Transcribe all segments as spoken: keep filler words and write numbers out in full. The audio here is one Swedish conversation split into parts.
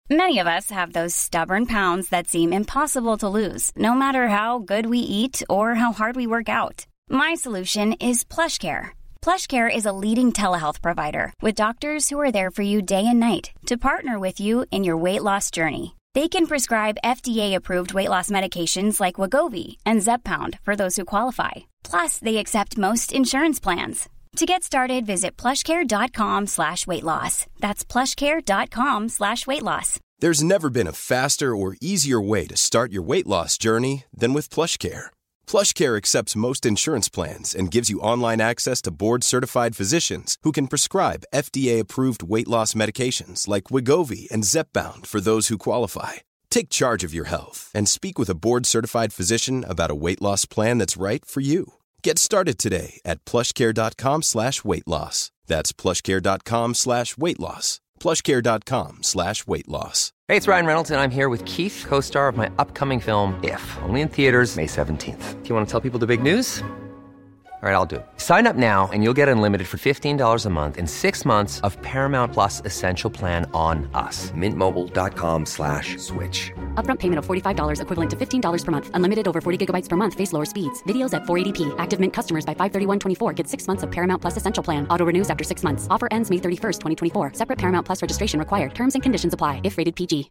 Many of us have those stubborn pounds that seem impossible to lose, no matter how good we eat or how hard we work out. My solution is PlushCare. PlushCare is a leading telehealth provider with doctors who are there for you day and night to partner with you in your weight loss journey. They can prescribe F D A-approved weight loss medications like Wegovy and Zepbound for those who qualify. Plus, they accept most insurance plans. To get started, visit plushcare.com slash weight loss. That's plushcare.com slash weight loss. There's never been a faster or easier way to start your weight loss journey than with PlushCare. PlushCare accepts most insurance plans and gives you online access to board-certified physicians who can prescribe F D A-approved weight loss medications like Wegovy and Zepbound for those who qualify. Take charge of your health and speak with a board-certified physician about a weight loss plan that's right for you. Get started today at plushcare.com slash weight loss. That's plushcare.com slash weight loss. plushcare.com slash weight loss. Hey, it's Ryan Reynolds, and I'm here with Keith, co-star of my upcoming film, If, only in theaters May seventeenth. Do you want to tell people the big news? All right, I'll do it. Sign up now and you'll get unlimited for fifteen dollars a month and six months of Paramount Plus Essential Plan on us. Mintmobile.com slash switch. Upfront payment of forty-five dollars equivalent to fifteen dollars per month. Unlimited over forty gigabytes per month. Face lower speeds. Videos at four eighty p. Active Mint customers by five thirty-one twenty-four get six months of Paramount Plus Essential Plan. Auto renews after six months. Offer ends May thirty-first, twenty twenty-four. Separate Paramount Plus registration required. Terms and conditions apply if rated P G.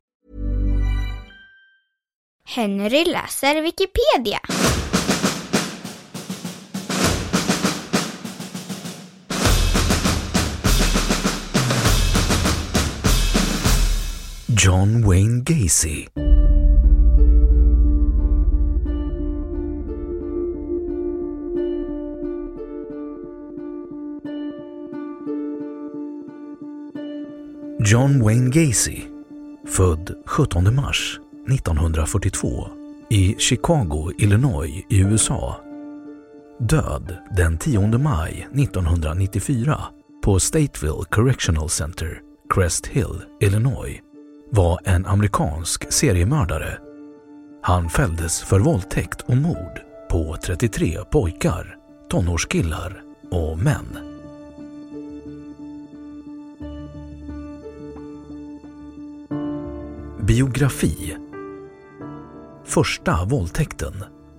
Henry läser Wikipedia. John Wayne Gacy. John Wayne Gacy, född sjuttonde mars nittonhundrafyrtiotvå i Chicago, Illinois i U S A. Död den tionde maj nittonhundranittiofyra på Stateville Correctional Center, Crest Hill, Illinois, var en amerikansk seriemördare. Han fälldes för våldtäkt och mord på trettiotre pojkar, tonårskillar och män. Biografi. Första våldtäkten.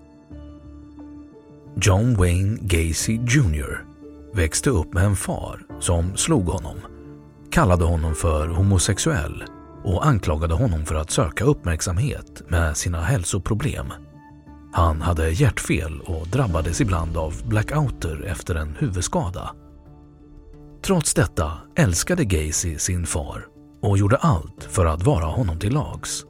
John Wayne Gacy junior växte upp med en far som slog honom, kallade honom för homosexuell och anklagade honom för att söka uppmärksamhet med sina hälsoproblem. Han hade hjärtfel och drabbades ibland av blackouter efter en huvudskada. Trots detta älskade Gacy sin far och gjorde allt för att vara honom till lags.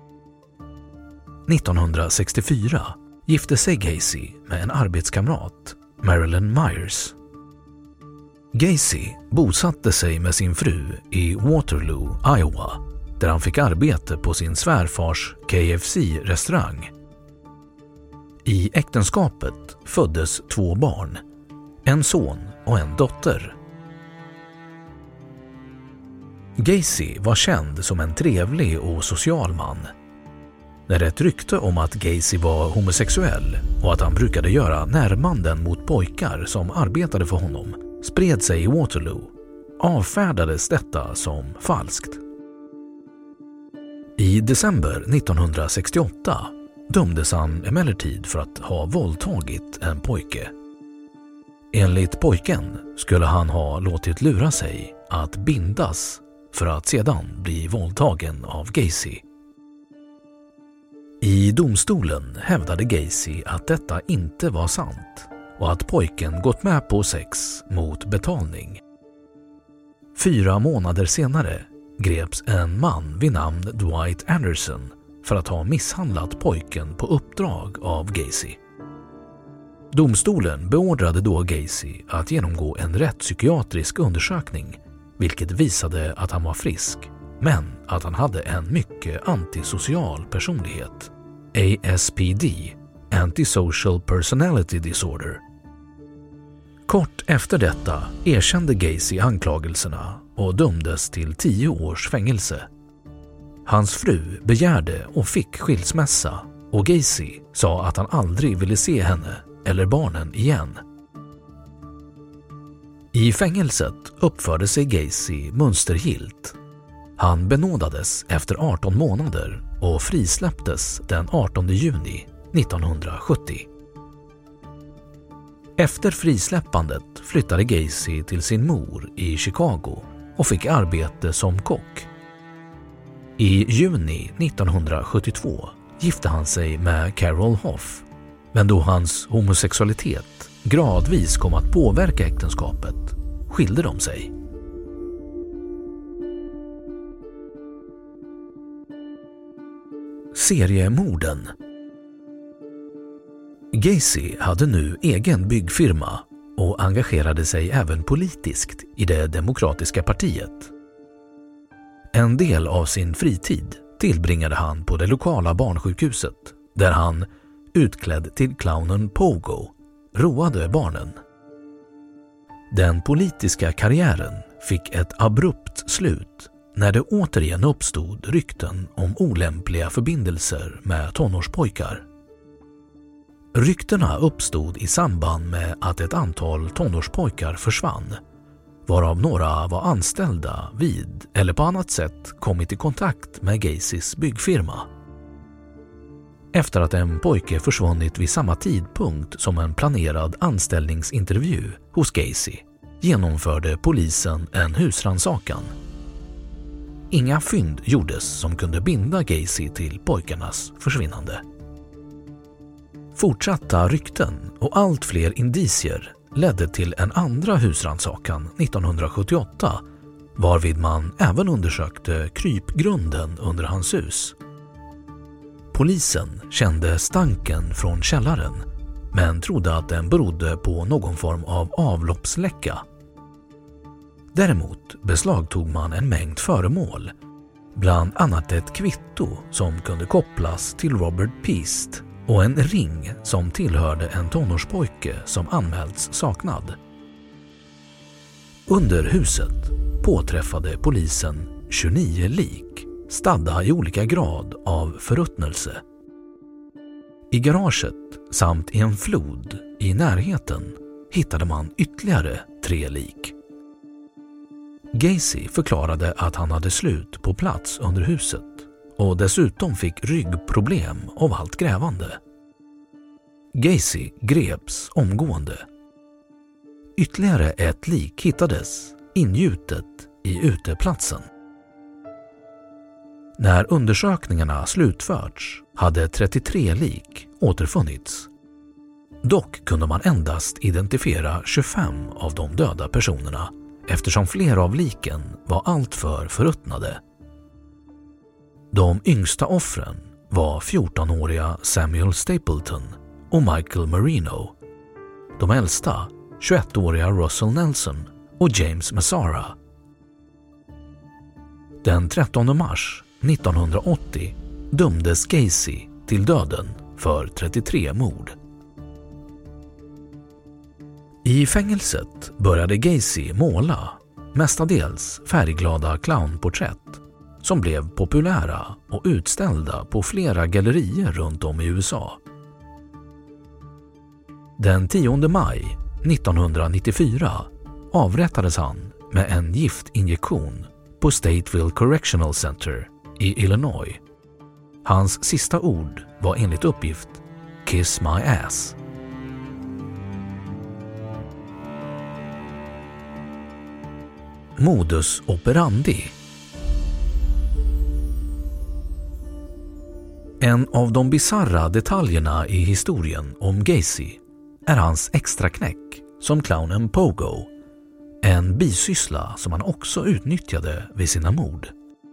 nittonhundrasextiofyra gifte sig Gacy med en arbetskamrat, Marilyn Myers. Gacy bosatte sig med sin fru i Waterloo, Iowa, där han fick arbete på sin svärfars K F C-restaurang. I äktenskapet föddes två barn, en son och en dotter. Gacy var känd som en trevlig och social man. När ett rykte om att Gacy var homosexuell och att han brukade göra närmanden mot pojkar som arbetade för honom spred sig i Waterloo, avfärdades detta som falskt. I december nittonhundrasextioåtta dömdes han emellertid för att ha våldtagit en pojke. Enligt pojken skulle han ha låtit lura sig att bindas för att sedan bli våldtagen av Gacy. I domstolen hävdade Gacy att detta inte var sant och att pojken gått med på sex mot betalning. Fyra månader senare greps en man vid namn Dwight Anderson för att ha misshandlat pojken på uppdrag av Gacy. Domstolen beordrade då Gacy att genomgå en rättspsykiatrisk undersökning, vilket visade att han var frisk, men att han hade en mycket antisocial personlighet, A S P D, Antisocial Personality Disorder. Kort efter detta erkände Gacy anklagelserna och dömdes till tio års fängelse. Hans fru begärde och fick skilsmässa och Gacy sa att han aldrig ville se henne eller barnen igen. I fängelset uppförde sig Gacy mönstergillt. Han benådades efter arton månader och frisläpptes den artonde juni nittonhundrasjuttio. Efter frisläppandet flyttade Gacy till sin mor i Chicago och fick arbete som kock. I juni nittonhundrasjuttiotvå gifte han sig med Carol Hoff, men då hans homosexualitet gradvis kom att påverka äktenskapet skilde de sig. Seriemorden. Gacy hade nu egen byggfirma och engagerade sig även politiskt i det demokratiska partiet. En del av sin fritid tillbringade han på det lokala barnsjukhuset där han, utklädd till clownen Pogo, roade barnen. Den politiska karriären fick ett abrupt slut när det återigen uppstod rykten om olämpliga förbindelser med tonårspojkar. Ryktena uppstod i samband med att ett antal tonårspojkar försvann, varav några var anställda vid eller på annat sätt kommit i kontakt med Gacys byggfirma. Efter att en pojke försvunnit vid samma tidpunkt som en planerad anställningsintervju hos Gacy genomförde polisen en husrannsakan. Inga fynd gjordes som kunde binda Gacy till pojkarnas försvinnande. Fortsatta rykten och allt fler indicier ledde till en andra husrannsakan nittonhundrasjuttioåtta, varvid man även undersökte krypgrunden under hans hus. Polisen kände stanken från källaren, men trodde att den berodde på någon form av avloppsläcka. Däremot beslagtog man en mängd föremål, bland annat ett kvitto som kunde kopplas till Robert Peast och en ring som tillhörde en tonårspojke som anmälts saknad. Under huset påträffade polisen tjugonio lik, stadda i olika grad av förruttnelse. I garaget samt i en flod i närheten hittade man ytterligare tre lik. Gacy förklarade att han hade slut på plats under huset och dessutom fick ryggproblem av allt grävande. Gacy greps omgående. Ytterligare ett lik hittades ingjutet i uteplatsen. När undersökningarna slutförts hade trettiotre lik återfunnits. Dock kunde man endast identifiera tjugofem av de döda personerna eftersom flera av liken var alltför förruttnade. De yngsta offren var fjortonåriga Samuel Stapleton och Michael Marino. De äldsta, tjugoettåriga Russell Nelson och James Massara. Den trettonde mars nittonhundraåttio dömdes Gacy till döden för trettiotre mord. I fängelset började Gacy måla, mestadels färgglada clownporträtt, som blev populära och utställda på flera gallerier runt om i U S A. Den tionde maj nittonhundranittiofyra avrättades han med en giftinjektion på Stateville Correctional Center i Illinois. Hans sista ord var enligt uppgift "Kiss my ass". Modus operandi. En av de bizarra detaljerna i historien om Gacy är hans extra knäck som clownen Pogo, en bisyssla som han också utnyttjade vid sina mord.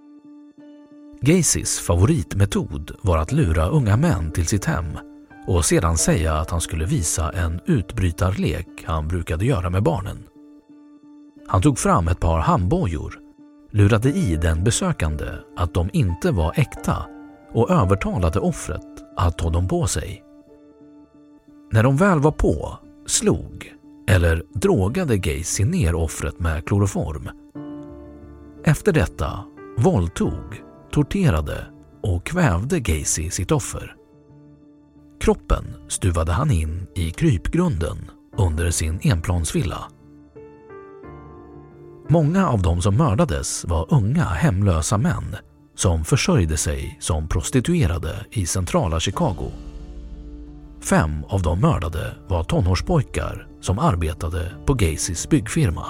Gacys favoritmetod var att lura unga män till sitt hem och sedan säga att han skulle visa en utbrytarlek han brukade göra med barnen. Han tog fram ett par handbojor, lurade i den besökande att de inte var äkta och övertalade offret att ta dem på sig. När de väl var på, slog eller drogade Gacy ner offret med kloroform. Efter detta våldtog, torterade och kvävde Gacy sitt offer. Kroppen stuvade han in i krypgrunden under sin enplansvilla. Många av dem som mördades var unga hemlösa män som försörjde sig som prostituerade i centrala Chicago. Fem av de mördade var tonårspojkar som arbetade på Gacys byggfirma.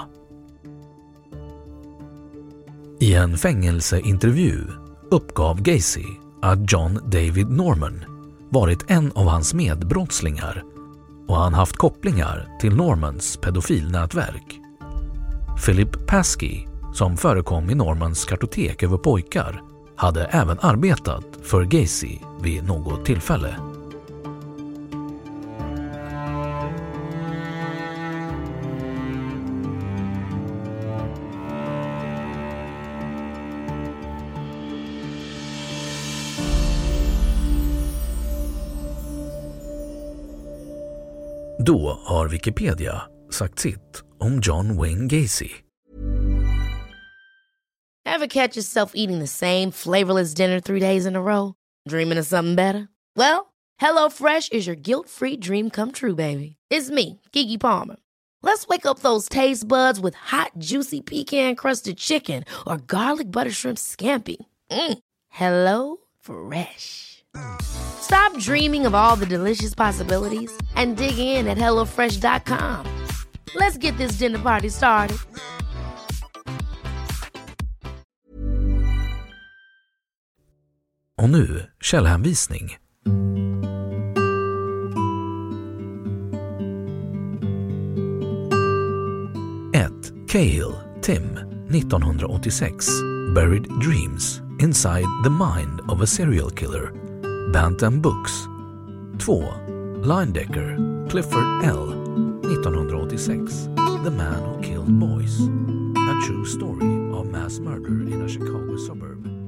I en fängelseintervju uppgav Gacy att John David Norman varit en av hans medbrottslingar och han haft kopplingar till Normans pedofilnätverk. Philip Pasky, som förekom i Normans kartotek över pojkar, hade även arbetat för Gacy vid något tillfälle. Då har Wikipedia sagt sitt om John Wayne Gacy. Ever catch yourself eating the same flavorless dinner three days in a row? Dreaming of something better? Well, HelloFresh is your guilt-free dream come true, baby. It's me, Keke Palmer. Let's wake up those taste buds with hot, juicy pecan-crusted chicken or garlic butter shrimp scampi. Mm. Hello Fresh. Stop dreaming of all the delicious possibilities and dig in at hello fresh dot com. Let's get this dinner party started. Och nu källhänvisning. ett. Cahill, Tim, nittonhundraåttiosex. Buried Dreams, Inside the Mind of a Serial Killer. Bantam Books. två. Leyendecker, Clifford L. nittonhundraåttiosex. The Man Who Killed Boys. A True Story of Mass Murder in a Chicago Suburb.